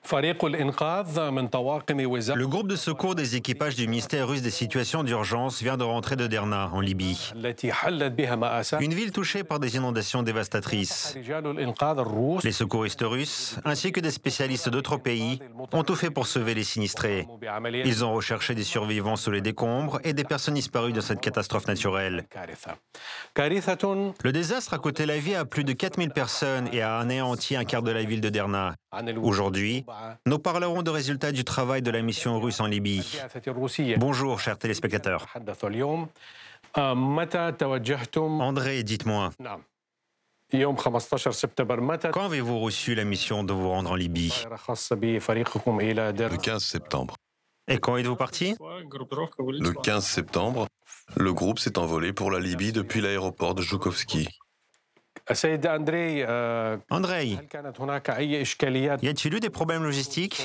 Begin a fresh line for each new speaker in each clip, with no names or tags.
Le groupe de secours des équipages du ministère russe des situations d'urgence vient de rentrer de Derna, en Libye. Une ville touchée par des inondations dévastatrices. Les secouristes russes, ainsi que des spécialistes d'autres pays, ont tout fait pour sauver les sinistrés. Ils ont recherché des survivants sous les décombres et des personnes disparues dans cette catastrophe naturelle. Le désastre a coûté la vie à plus de 4000 personnes et a anéanti un quart de la ville de Derna. Aujourd'hui, nous parlerons des résultats du travail de la mission russe en Libye. Bonjour, chers téléspectateurs. André, dites-moi, quand avez-vous reçu la mission de vous rendre en Libye?
Le 15 septembre.
Et quand êtes-vous parti?
Le 15 septembre, le groupe s'est envolé pour la Libye depuis l'aéroport de Joukovski.
Andrei, y a-t-il eu des problèmes logistiques?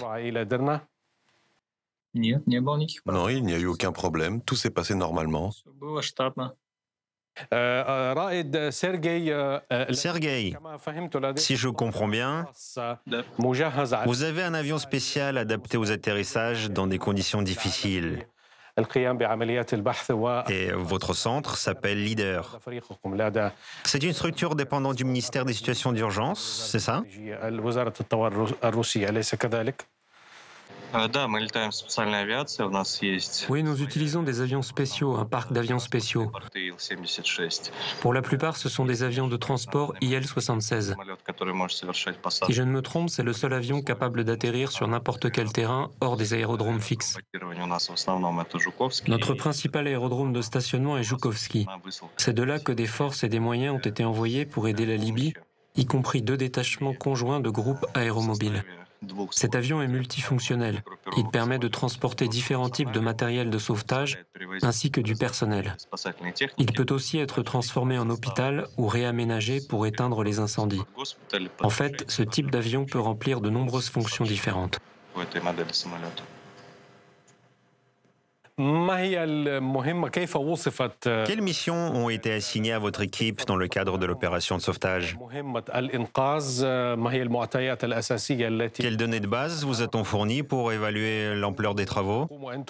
Non, il n'y a eu aucun problème, tout s'est passé normalement.
Sergueï, si je comprends bien, vous avez un avion spécial adapté aux atterrissages dans des conditions difficiles. Et votre centre s'appelle LEADER. C'est une structure dépendante du ministère des situations d'urgence, c'est ça?
Oui, nous utilisons des avions spéciaux, un parc d'avions spéciaux. Pour la plupart, ce sont des avions de transport IL-76. Si je ne me trompe, c'est le seul avion capable d'atterrir sur n'importe quel terrain hors des aérodromes fixes. Notre principal aérodrome de stationnement est Joukovski. C'est de là que des forces et des moyens ont été envoyés pour aider la Libye, y compris 2 détachements conjoints de groupes aéromobiles. Cet avion est multifonctionnel. Il permet de transporter différents types de matériel de sauvetage ainsi que du personnel. Il peut aussi être transformé en hôpital ou réaménagé pour éteindre les incendies. En fait, ce type d'avion peut remplir de nombreuses fonctions différentes.
Quelles missions ont été assignées à votre équipe dans le cadre de l'opération de sauvetage? Quelles données de base vous a-t-on fournies pour évaluer l'ampleur des travaux?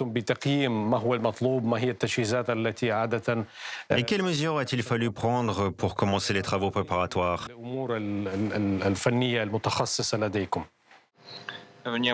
Et quelles mesures a-t-il fallu prendre pour commencer les travaux préparatoires?
Il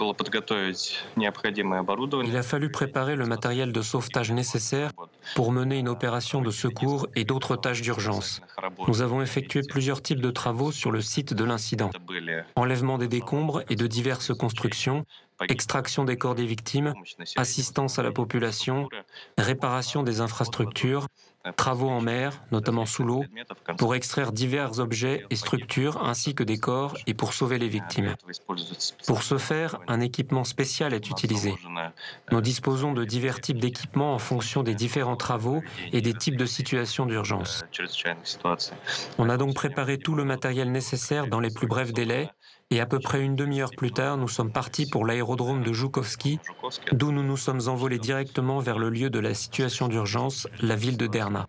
a fallu préparer le matériel de sauvetage nécessaire pour mener une opération de secours et d'autres tâches d'urgence. Nous avons effectué plusieurs types de travaux sur le site de l'incident. Enlèvement des décombres et de diverses constructions, extraction des corps des victimes, assistance à la population, réparation des infrastructures, travaux en mer, notamment sous l'eau, pour extraire divers objets et structures ainsi que des corps et pour sauver les victimes. Pour ce faire, un équipement spécial est utilisé. Nous disposons de divers types d'équipements en fonction des différents travaux et des types de situations d'urgence. On a donc préparé tout le matériel nécessaire dans les plus brefs délais et à peu près une demi-heure plus tard, nous sommes partis pour l'aérodrome de Joukovski, d'où nous nous sommes envolés directement vers le lieu de la situation d'urgence, la ville de Derna.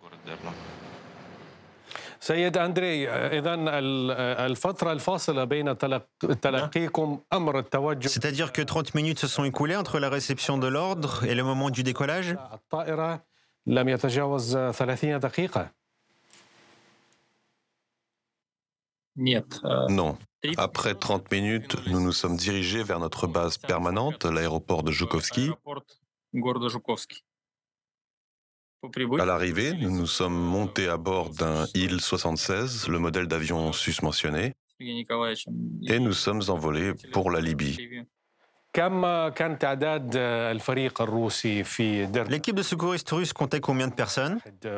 C'est-à-dire que 30 minutes se sont écoulées entre la réception de l'ordre et le moment du décollage?
Non. Après 30 minutes, nous nous sommes dirigés vers notre base permanente, l'aéroport de Joukovski. À l'arrivée, nous nous sommes montés à bord d'un Il-76, le modèle d'avion susmentionné, et nous sommes envolés pour la Libye.
L'équipe de secouristes russes comptait combien de personnes?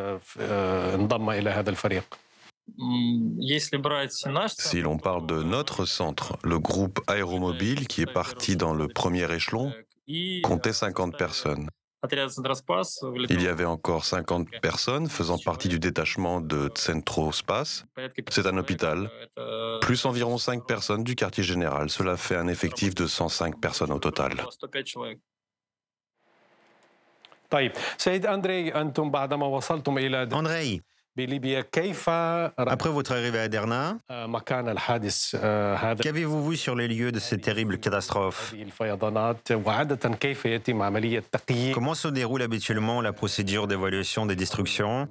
Si l'on parle de notre centre, le groupe aéromobile qui est parti dans le premier échelon comptait 50 personnes. Il y avait encore 50 personnes faisant partie du détachement de Centro Spas. C'est un hôpital, plus environ 5 personnes du quartier général. Cela fait un effectif de 105 personnes au total.
Andrei, Après votre arrivée à Derna, qu'avez-vous vu sur les lieux de cette terrible catastrophe? Comment se déroule habituellement la procédure d'évaluation des destructions,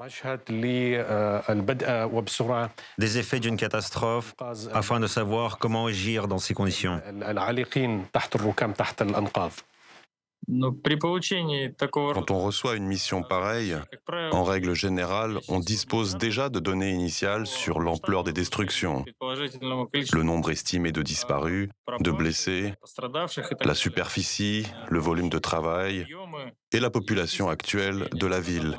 des effets d'une catastrophe, afin de savoir comment agir dans ces conditions?
Quand on reçoit une mission pareille, en règle générale, on dispose déjà de données initiales sur l'ampleur des destructions, le nombre estimé de disparus, de blessés, la superficie, le volume de travail et la population actuelle de la ville.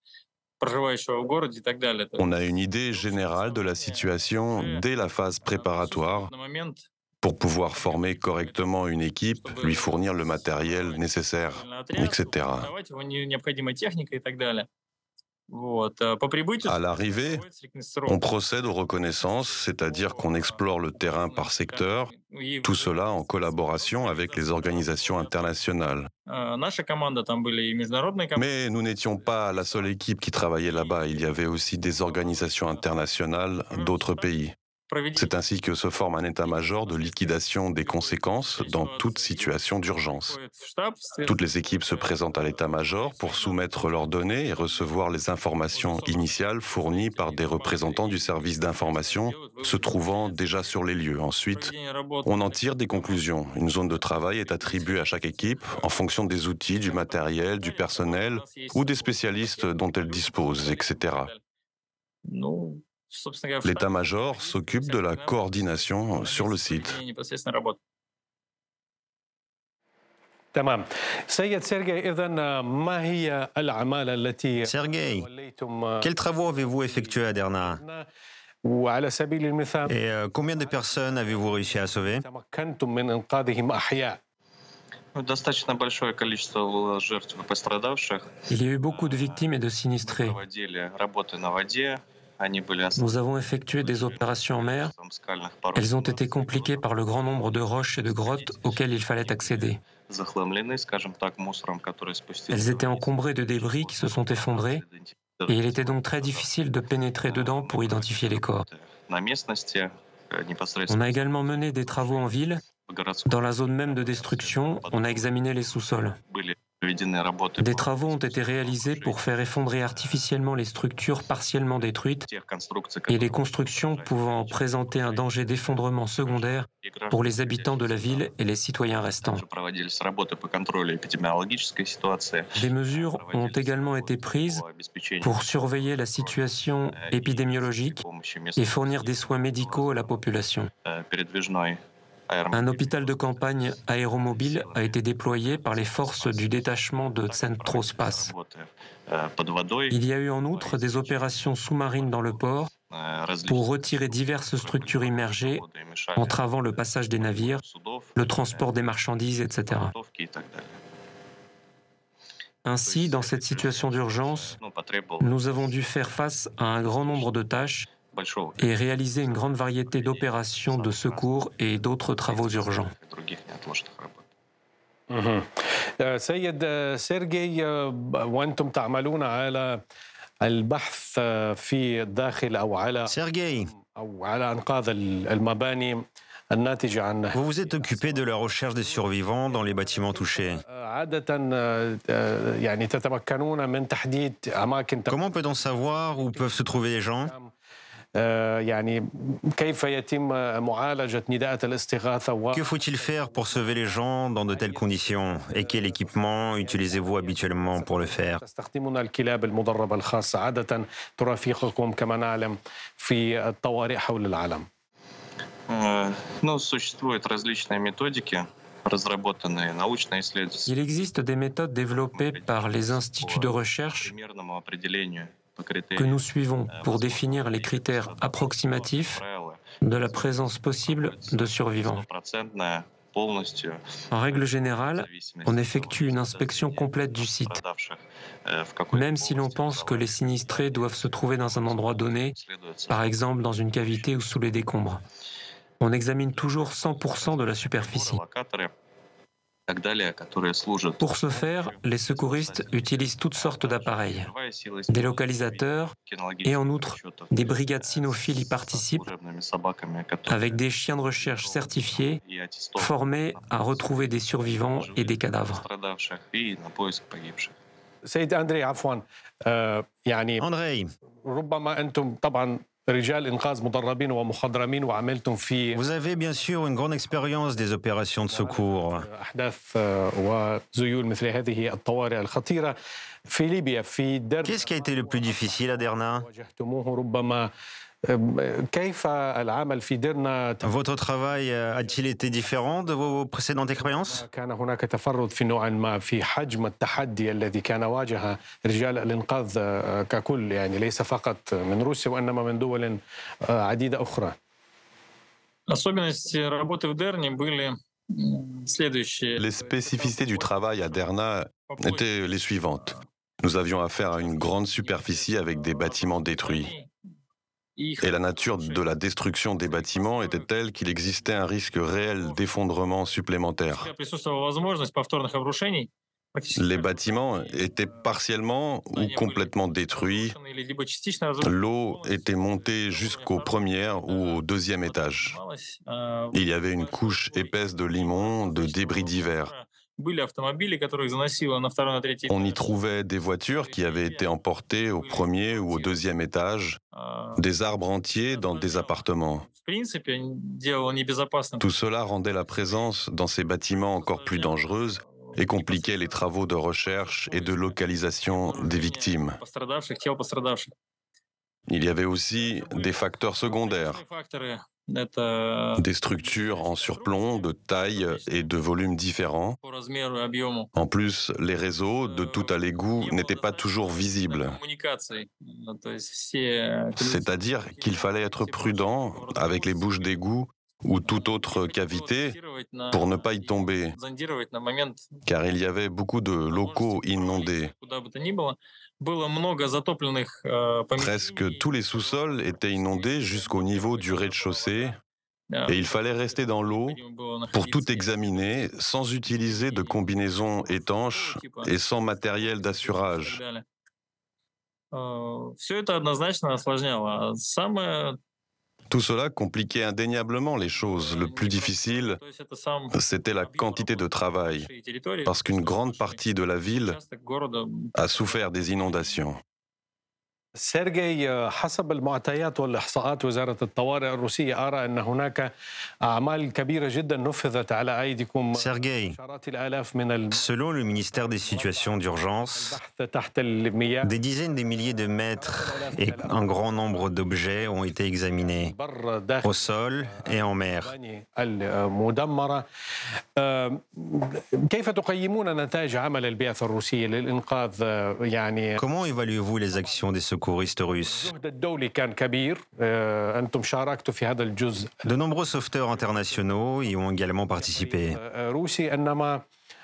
On a une idée générale de la situation dès la phase préparatoire pour pouvoir former correctement une équipe, lui fournir le matériel nécessaire, etc. À l'arrivée, on procède aux reconnaissances, c'est-à-dire qu'on explore le terrain par secteur, tout cela en collaboration avec les organisations internationales. Mais nous n'étions pas la seule équipe qui travaillait là-bas, il y avait aussi des organisations internationales d'autres pays. C'est ainsi que se forme un état-major de liquidation des conséquences dans toute situation d'urgence. Toutes les équipes se présentent à l'état-major pour soumettre leurs données et recevoir les informations initiales fournies par des représentants du service d'information se trouvant déjà sur les lieux. Ensuite, on en tire des conclusions. Une zone de travail est attribuée à chaque équipe en fonction des outils, du matériel, du personnel ou des spécialistes dont elle dispose, etc. L'état-major s'occupe de la coordination sur le site.
Sergueï, quels travaux avez-vous effectués à Derna? Et combien de personnes avez-vous réussi à sauver?
Il y a eu beaucoup de victimes et de sinistrés. Nous avons effectué des opérations en mer. Elles ont été compliquées par le grand nombre de roches et de grottes auxquelles il fallait accéder. Elles étaient encombrées de débris qui se sont effondrés et il était donc très difficile de pénétrer dedans pour identifier les corps. On a également mené des travaux en ville. Dans la zone même de destruction, on a examiné les sous-sols. Des travaux ont été réalisés pour faire effondrer artificiellement les structures partiellement détruites et les constructions pouvant présenter un danger d'effondrement secondaire pour les habitants de la ville et les citoyens restants. Des mesures ont également été prises pour surveiller la situation épidémiologique et fournir des soins médicaux à la population. Un hôpital de campagne aéromobile a été déployé par les forces du détachement de Centrospas. Il y a eu en outre des opérations sous-marines dans le port pour retirer diverses structures immergées, entravant le passage des navires, le transport des marchandises, etc. Ainsi, dans cette situation d'urgence, nous avons dû faire face à un grand nombre de tâches et réaliser une grande variété d'opérations de secours et d'autres travaux urgents.
سيد سيرجي وأنتم تعملون على البحث في الداخل أو على أنقاض المباني الناتجة عن
Vous vous êtes occupé de la recherche des survivants dans les bâtiments touchés.
عادة يعني تتمكنون من تحديد أماكن.
Comment peut-on savoir où peuvent se trouver les gens?
يعني كيف يتم معالجة نداءات الاستغاثة
Que faut-il faire pour sauver les gens dans de telles conditions? Et quel équipement utilisez-vous habituellement pour le faire?
تستخدمون الكلاب المدربة الخاصة عادة ترافقكم كما نعلم في الطوارئ حول العالم.
Существуют различные методики.
Il existe des méthodes développées par les instituts de recherche que nous suivons pour définir les critères approximatifs de la présence possible de survivants. En règle générale, on effectue une inspection complète du site. Même si l'on pense que les sinistrés doivent se trouver dans un endroit donné, par exemple dans une cavité ou sous les décombres, on examine toujours 100% de la superficie. Pour ce faire, les secouristes utilisent toutes sortes d'appareils, des localisateurs et en outre, des brigades cynophiles y participent avec des chiens de recherche certifiés formés à retrouver des survivants et des cadavres.
سيد أندري عفوا يعني
Andrei,
ربما أنتم طبعا رجال إنقاذ مدربين ومخضرمين وعملتم في
vous avez bien sûr une grande expérience des opérations de secours.
أحداث وذيول مثل هذه الطوارئ الخطيرة في ليبيا في درنا
Qu'est-ce qui a été le plus difficile à Derna?
واجهتموه ربما كيف العمل في درنا
Votre travail a-t-il été différent de vos précédentes expériences?
كان هناك تفرد في نوع ما في حجم التحدي الذي كان واجه رجال الإنقاذ ككل يعني ليس فقط من روسيا وإنما من دول عديدة أخرى.
Особенности работы в Дерне были следующие.
Les spécificités du travail à Derna étaient les suivantes. Nous avions affaire à une grande superficie avec des bâtiments détruits. Et la nature de la destruction des bâtiments était telle qu'il existait un risque réel d'effondrement supplémentaire. Les bâtiments étaient partiellement ou complètement détruits. L'eau était montée jusqu'au premier ou au deuxième étage. Il y avait une couche épaisse de limon, de débris divers. On y trouvait des voitures qui avaient été emportées au premier ou au deuxième étage, des arbres entiers dans des appartements. Tout cela rendait la présence dans ces bâtiments encore plus dangereuse et compliquait les travaux de recherche et de localisation des victimes. Il y avait aussi des facteurs secondaires, des structures en surplomb de taille et de volume différents. En plus, les réseaux de tout à l'égout n'étaient pas toujours visibles. C'est-à-dire qu'il fallait être prudent avec les bouches d'égout ou toute autre cavité pour ne pas y tomber, car il y avait beaucoup de locaux inondés. Presque tous les sous-sols étaient inondés jusqu'au niveau du rez-de-chaussée et il fallait rester dans l'eau pour tout examiner sans utiliser de combinaisons étanches et sans matériel d'assurage. Tout cela compliquait indéniablement les choses. Le plus difficile, c'était la quantité de travail, parce qu'une grande partie de la ville a souffert des inondations.
سيرجي حسب المعطيات والإحصاءات وزارة الطوارئ الروسية أرى أن هناك أعمال كبيرة جدا نفذت على أيديكم
Sergueï,
عشرات الآلاف من
selon le ministère des situations d'urgence,
البحث تحت المياه
des dizaines de milliers de mètres et un grand nombre d'objets ont été examinés
بر داخل
au sol et en mer.
المدمرة كيف تقيمون نتائج عمل البعثة الروسية للإنقاذ يعني
Comment évaluez-vous les actions des secouristes russes?
الجهد الدولي كان كبير أنتم شاركتوا في هذا الجزء
De nombreux sauveteurs internationaux y ont également participé.
روسي إنما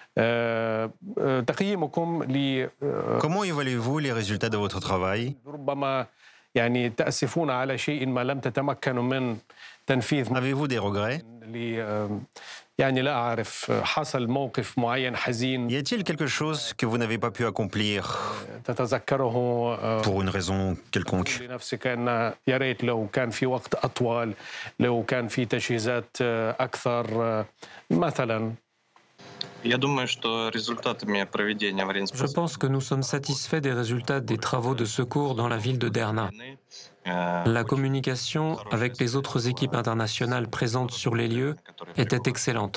تقييمكم ل
Comment évaluez-vous les résultats de votre travail?
ربما يعني تأسفون على شيء ما لم تتمكنوا من تنفيذ
Avez-vous des regrets?
يعني لا أعرف حصل موقف معين حزين
Y a-t-il quelque chose que vous n'avez pas pu accomplir
تتذكره
pour une raison quelconque?
لنفسك أن يا ريت لو كان في وقت أطول لو كان في تجهيزات أكثر مثلا
Je pense que nous sommes satisfaits des résultats des travaux de secours dans la ville de Derna. La communication avec les autres équipes internationales présentes sur les lieux était excellente.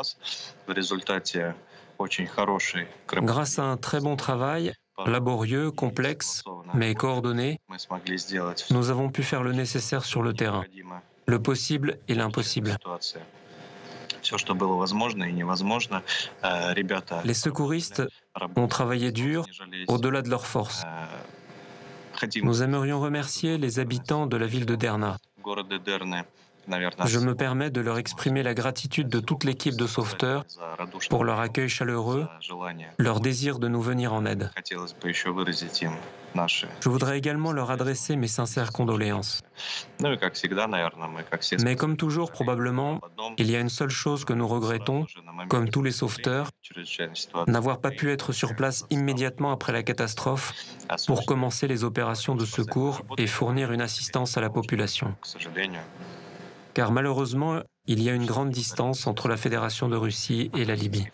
Grâce à un très bon travail, laborieux, complexe, mais coordonné, nous avons pu faire le nécessaire sur le terrain, le possible et l'impossible. Les secouristes ont travaillé dur, au-delà de leurs forces. Nous aimerions remercier les habitants de la ville de Derna. Je me permets de leur exprimer la gratitude de toute l'équipe de sauveteurs pour leur accueil chaleureux, leur désir de nous venir en aide. Je voudrais également leur adresser mes sincères condoléances. Mais comme toujours, probablement, il y a une seule chose que nous regrettons, comme tous les sauveteurs, n'avoir pas pu être sur place immédiatement après la catastrophe pour commencer les opérations de secours et fournir une assistance à la population. Car malheureusement, il y a une grande distance entre la Fédération de Russie et la Libye.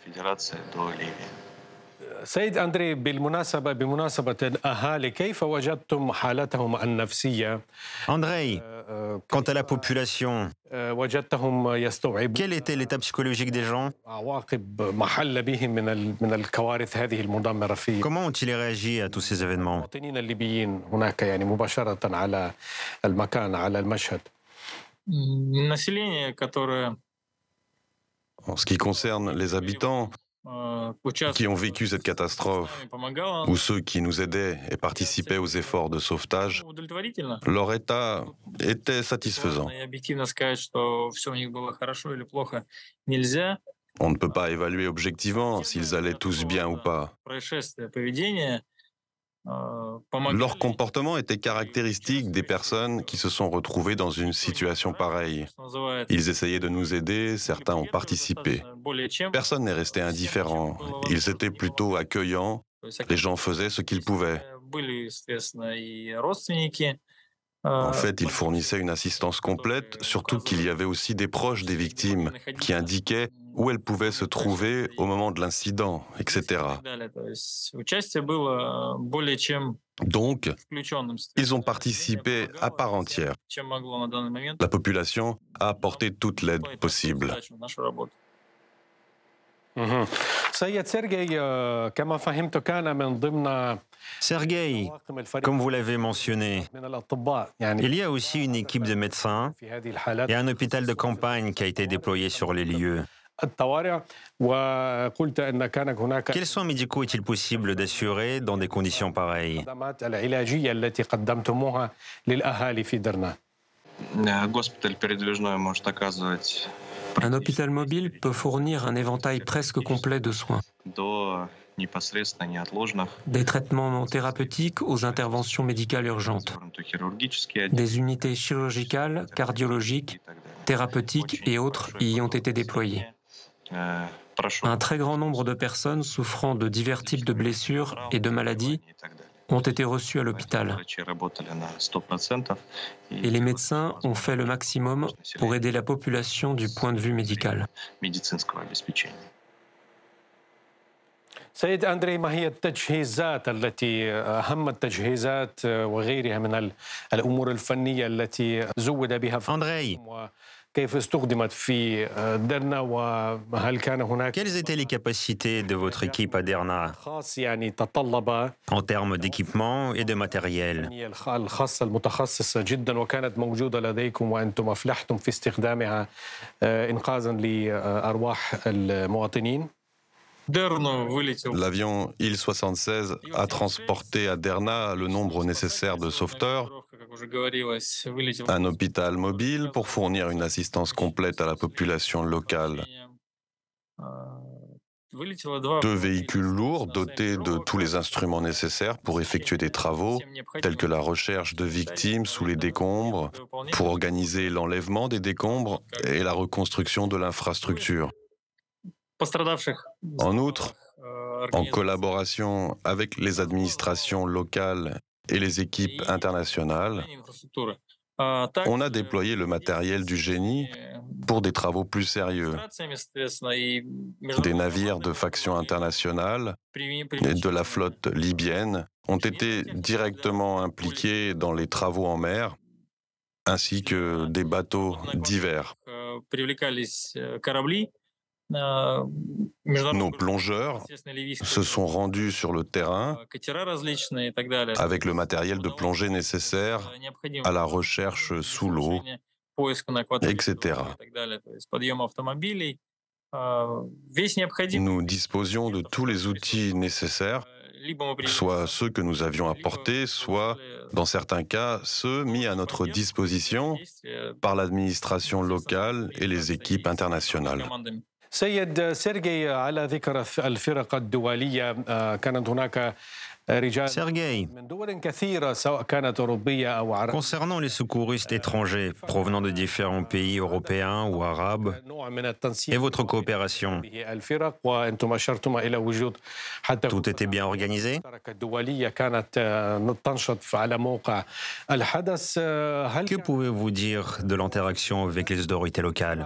سيد أندري بمناسبة الأهالي كيف وجدتم حالتهم النفسية؟
Andrei, quant à la population,
وجدتهم يستوعبون
quel était l'état psychologique des gens?
عواقب ما حل بهم من الكوارث هذه المدمرة في
Comment ont-ils réagi à tous ces événements?
المواطنين الليبيين هناك يعني مباشرة على المكان على المشهد؟
Население, которое
En ce qui concerne les habitants qui ont vécu cette catastrophe ou ceux qui nous aidaient et participaient aux efforts de sauvetage,
удовлетворительно.
leur état était satisfaisant.
И объективно сказать, что все у них было хорошо или плохо, нельзя.
On ne peut pas évaluer objectivement s'ils allaient tous bien ou pas.
Происшествие, поведение
Leur comportement était caractéristique des personnes qui se sont retrouvées dans une situation pareille. Ils essayaient de nous aider, certains ont participé. Personne n'est resté indifférent. Ils étaient plutôt accueillants. Les gens faisaient ce qu'ils pouvaient. En fait, ils fournissaient une assistance complète, surtout qu'il y avait aussi des proches des victimes qui indiquaient où elles pouvaient se trouver au moment de l'incident, etc. Donc, ils ont participé à part entière. La population a apporté toute l'aide possible.
سيد سيرجي كما فهمت كان من ضمن
Sergueï, comme vous l'avez mentionné,
من الأطباء يعني
il y a aussi une équipe de médecins
في هذه الحالات
et un hôpital de campagne qui a été déployé sur les lieux.
الطوارئ وقلت أن كان هناك
Quels soins médicaux est-il possible d'assurer dans des conditions pareilles?
الخدمات العلاجية التي قدمتموها للأهالي في درنا.
Госпиталь передвижной может оказывать
Un hôpital mobile peut fournir un éventail presque complet de soins,
до непосредственно неотложных,
des traitements thérapeutiques aux interventions médicales urgentes,
хирургические
des unités chirurgicales, cardiologiques, thérapeutiques et autres y ont été déployées. Un très grand nombre de personnes souffrant de divers types de blessures et de maladies ont été reçues à l'hôpital. Et les médecins ont fait le maximum pour aider la population du point de vue médical.
سيد أندري ما هي التجهيزات التي أهم التجهيزات وغيرها من الأمور الفنية التي زود بها
Andrei,
كيف استخدمت في درنا وهل كان هناك
quelles étaient les capacités de votre équipe à Derna
خاص يعني تطلب
en termes d'équipement et de matériel?
الخاصة المتخصصة جدا وكانت موجودة لديكم وأنتم أفلحتم في استخدامها إنقاذا لأرواح المواطنين؟
L'avion Il-76 a transporté à Derna le nombre nécessaire de sauveteurs, un hôpital mobile pour fournir une assistance complète à la population locale, 2 véhicules lourds dotés de tous les instruments nécessaires pour effectuer des travaux, tels que la recherche de victimes sous les décombres, pour organiser l'enlèvement des décombres et la reconstruction de l'infrastructure. En outre, en collaboration avec les administrations locales et les équipes internationales, on a déployé le matériel du génie pour des travaux plus sérieux. Des navires de faction internationale et de la flotte libyenne ont été directement impliqués dans les travaux en mer, ainsi que des bateaux divers. Nos plongeurs se sont rendus sur le terrain avec le matériel de plongée nécessaire à la recherche sous l'eau, etc. Nous disposions de tous les outils nécessaires soit ceux que nous avions apportés, soit, dans certains cas, ceux mis à notre disposition par l'administration locale et les équipes internationales.
سيد سيرجي على ذكر الفرق الدولية كانت هناك
Sergueï, concernant les secouristes étrangers provenant de différents pays européens ou arabes et votre coopération, tout était bien organisé? Que pouvez-vous dire de l'interaction avec les autorités locales?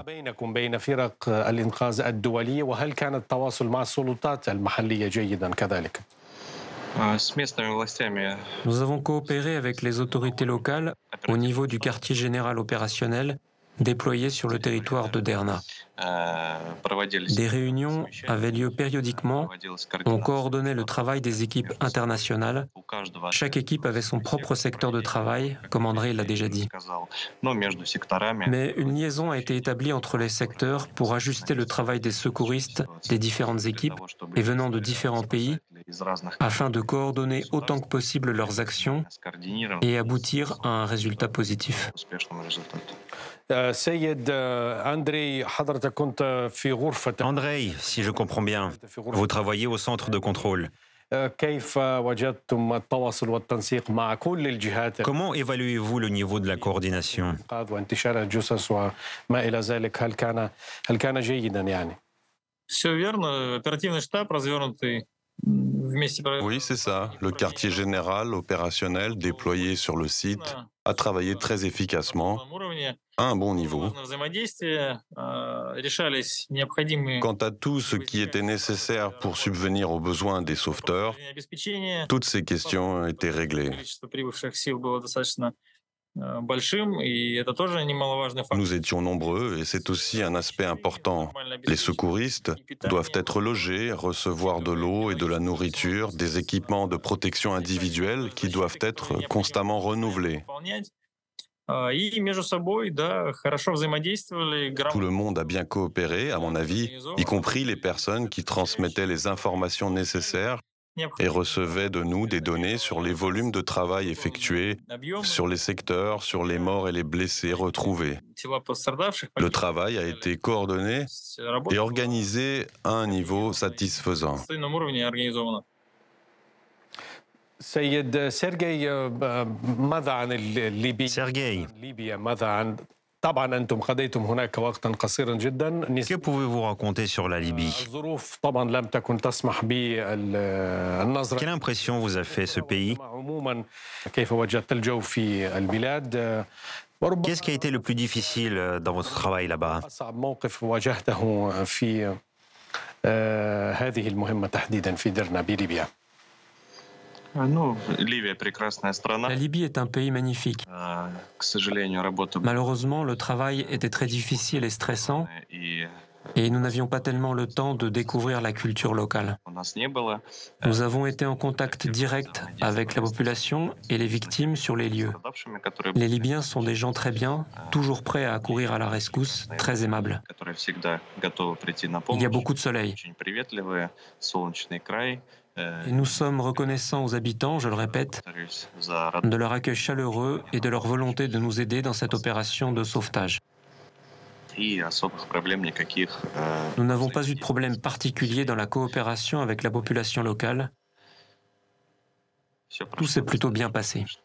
Nous avons coopéré avec les autorités locales au niveau du quartier général opérationnel déployé sur le territoire de Derna. Des réunions avaient lieu périodiquement. On coordonnait le travail des équipes internationales. Chaque équipe avait son propre secteur de travail, comme André l'a déjà dit. Mais une liaison a été établie entre les secteurs pour ajuster le travail des secouristes des différentes équipes et venant de différents pays afin de coordonner autant que possible leurs actions et aboutir à un résultat positif.
Andrei, si je comprends bien, vous travaillez au centre de contrôle. Comment évaluez-vous le niveau de la coordination?
Oui, c'est ça. Le quartier général opérationnel déployé sur le site a travaillé très efficacement, à un bon niveau. Quant à tout ce qui était nécessaire pour subvenir aux besoins des sauveteurs, toutes ces questions ont été réglées. Nous étions nombreux et c'est aussi un aspect important. Les secouristes doivent être logés, recevoir de l'eau et de la nourriture, des équipements de protection individuelle qui doivent être constamment renouvelés. Tout le monde a bien coopéré, à mon avis, y compris les personnes qui transmettaient les informations nécessaires et recevaient de nous des données sur les volumes de travail effectués, sur les secteurs, sur les morts et les blessés retrouvés. Le travail a été coordonné et organisé à un niveau satisfaisant.
Sergueï, que pouvez-vous raconter sur la Libye? Quelle impression vous a fait ce pays? Qu'est-ce qui a été le plus difficile dans votre travail là-bas?
La Libye est un pays magnifique. Malheureusement, le travail était très difficile et stressant et nous n'avions pas tellement le temps de découvrir la culture locale. Nous avons été en contact direct avec la population et les victimes sur les lieux. Les Libyens sont des gens très bien, toujours prêts à accourir à la rescousse, très aimables. Il y a beaucoup de soleil. Et nous sommes reconnaissants aux habitants, je le répète, de leur accueil chaleureux et de leur volonté de nous aider dans cette opération de sauvetage. Nous n'avons pas eu de problème particulier dans la coopération avec la population locale. Tout s'est plutôt bien passé.